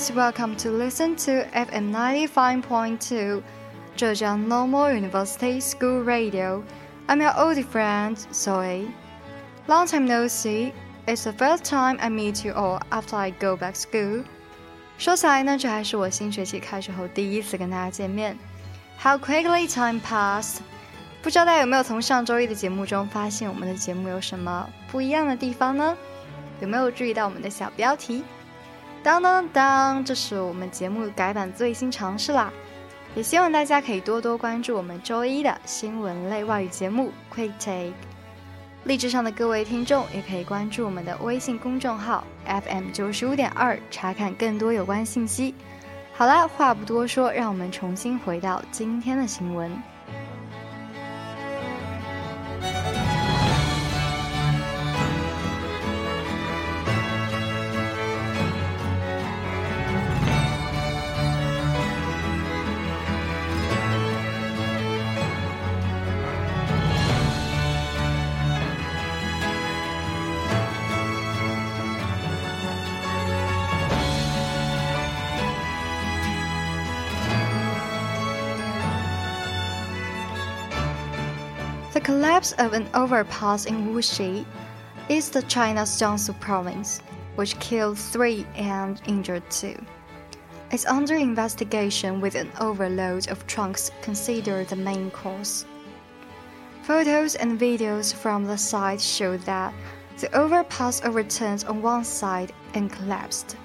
friends, welcome to listen to FM 95.2 Zhejiang Normal University School Radio. I'm your old friend, Zoe. Long time no see. It's the first time I meet you all after I go back school. 说起来呢，这还是我新学期开学后第一次跟大家见面。How quickly time passed! 不知道大家有没有从上周一的节目中发现我们的节目有什么不一样的地方呢？有没有注意到我们的小标题？当当当，这是我们节目改版最新尝试啦！也希望大家可以多多关注我们周一的新闻类外语节目 Quick Take。荔枝上的各位听众也可以关注我们的微信公众号 FM95.2，查看更多有关信息。好啦，话不多说，让我们重新回到今天的新闻。The collapse of an overpass in Wuxi, east of China's Jiangsu province, which killed 3 and injured 2, is under investigation with an overload of trunks considered the main cause. Photos and videos from the site show that the overpass overturned on one side and collapsed.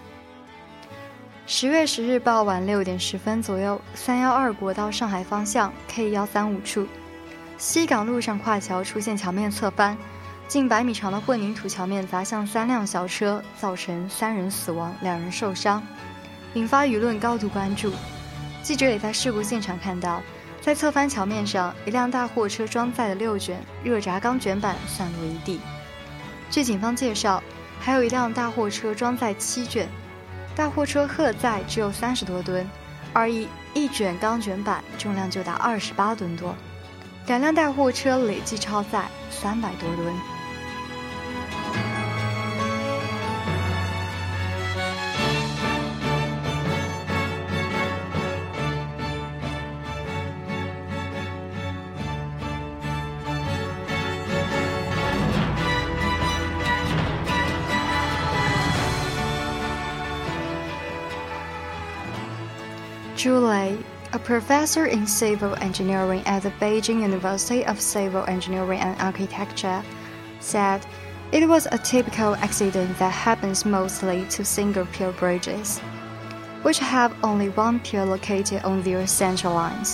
10月10日傍晚6点10分左右，312国道上海方向 K135处。西港路上跨桥出现桥面侧翻，近100米长的混凝土桥面砸向3辆小车，造成3人死亡，2人受伤，引发舆论高度关注。记者也在事故现场看到，在侧翻桥面上，一辆大货车装载的6卷热轧钢卷板散落一地。据警方介绍，还有一辆大货车装载7卷，大货车荷载只有30多吨，而一卷钢卷板重量就达28吨多。2辆大货车累计超载300多吨。Julie, a professor in civil engineering at the Beijing University of Civil Engineering and Architecture, said it was a typical accident that happens mostly to single-pier bridges, which have only one pier located on their central lines.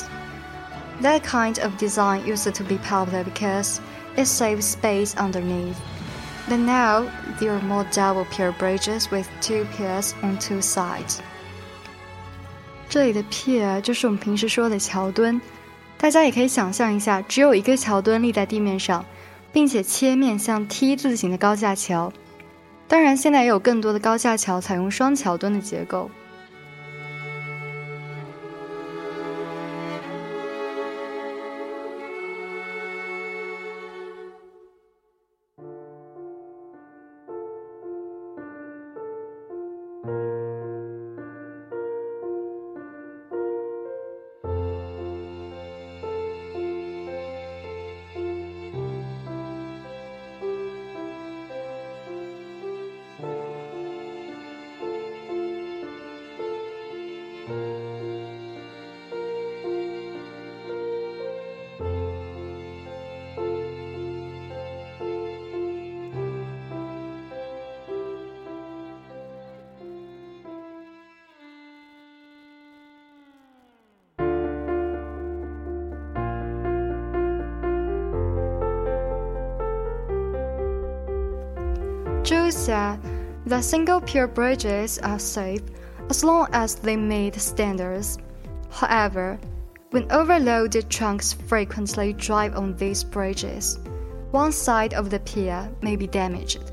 That kind of design used to be popular because it saves space underneath. But now, there are more double-pier bridges with 2 piers on 2 sides.这里的 pier 就是我们平时说的桥墩，大家也可以想象一下，只有一个桥墩立在地面上，并且切面像 T 字形的高架桥。当然，现在也有更多的高架桥采用双桥墩的结构。Zhou said that single-pier bridges are safe as long as they meet standards. However, when overloaded trunks frequently drive on these bridges, one side of the pier may be damaged,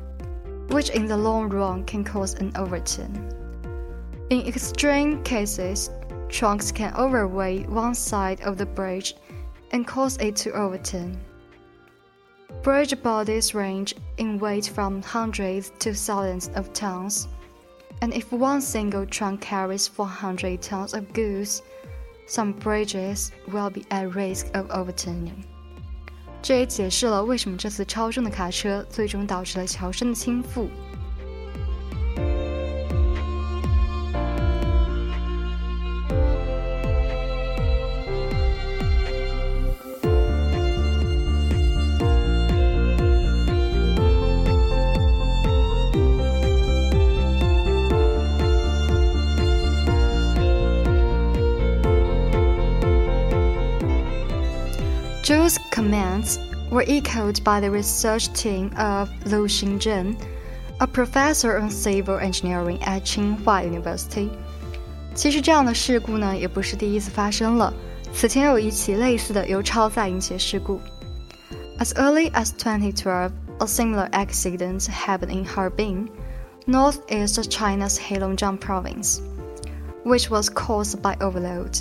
which in the long run can cause an overturn. In extreme cases, trunks can overweigh one side of the bridge and cause it to overturn. Bridge bodies range in weight from hundreds to thousands of tons. And if one single trunk carries 400 tons of goods, some bridges will be at risk of overturning. 这也解释了为什么这次超重的卡车最终导致了桥身的倾覆。Zhu's comments were echoed by the research team of Lu Xingzhen, a professor on civil engineering at Tsinghua University. 其实这样的事故呢，也不是第一次发生了。此前有一起类似的由超载引起的事故。As early as 2012, a similar accident happened in Harbin, northeast of China's Heilongjiang province, which was caused by overload.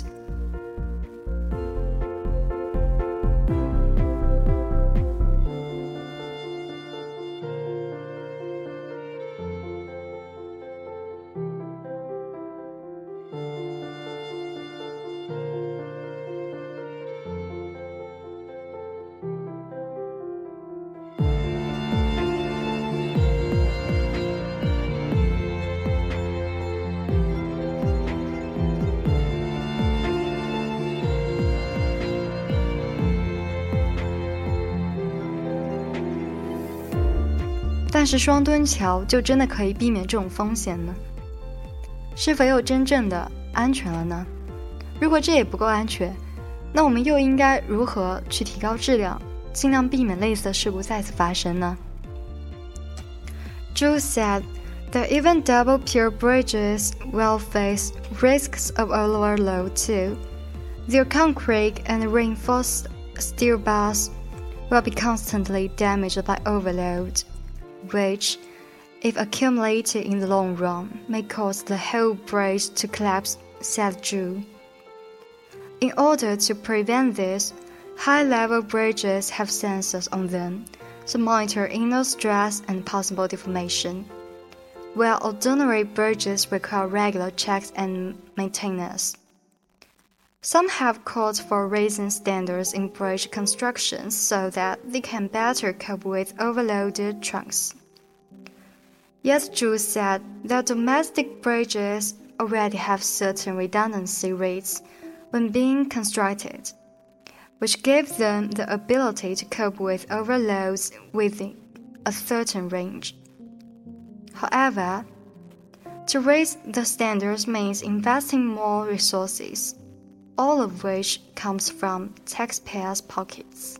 但是双墩桥就真的可以避免这种风险呢？是否又真正的安全了呢？如果这也不够安全，那我们又应该如何去提高质量，尽量避免类似的事故再次发生呢？ Zhu said that even double pier bridges will face risks of overload too. Their concrete and reinforced steel bars will be constantly damaged by overload, which, if accumulated in the long run, may cause the whole bridge to collapse, said Zhu. In order to prevent this, high-level bridges have sensors on them to monitor inner stress and possible deformation, while ordinary bridges require regular checks and maintenance. Some have called for raising standards in bridge construction so that they can better cope with overloaded trunks. Yet Zhu said that domestic bridges already have certain redundancy rates when being constructed, which give them the ability to cope with overloads within a certain range. However, to raise the standards means investing more resources, all of which comes from taxpayers' pockets.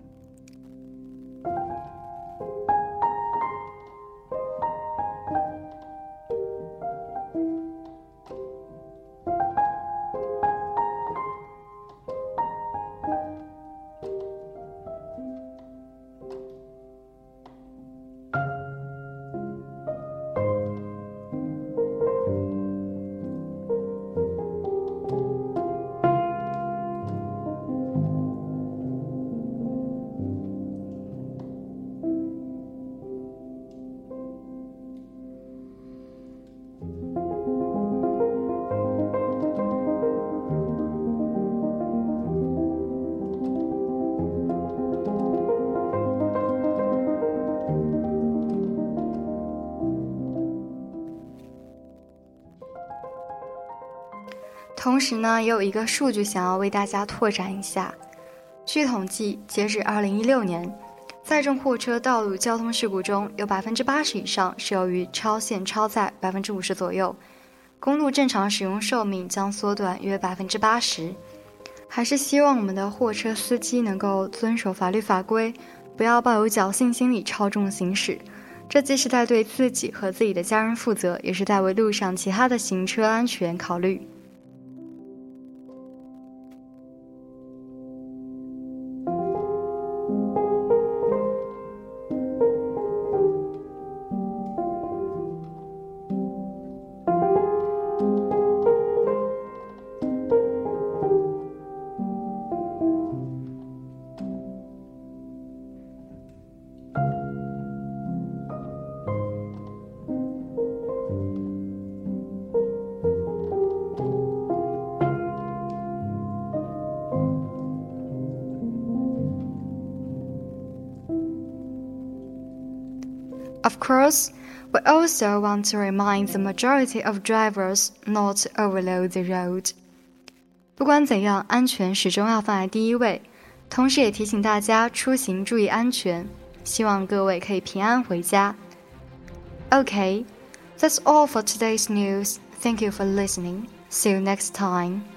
同时呢，也有一个数据想要为大家拓展一下。据统计，截止2016年，载重货车道路交通事故中有80%以上是由于超限超载50%左右，公路正常使用寿命将缩短约80%。还是希望我们的货车司机能够遵守法律法规，不要抱有侥幸心理超重行驶。这既是在对自己和自己的家人负责，也是在为路上其他的行车安全考虑。 Of course, we also want to remind the majority of drivers not to overload the road. 不管怎样，安全始终要放在第一位，同时也提醒大家出行注意安全，希望各位可以平安回家。Okay, that's all for today's news. Thank you for listening. See you next time.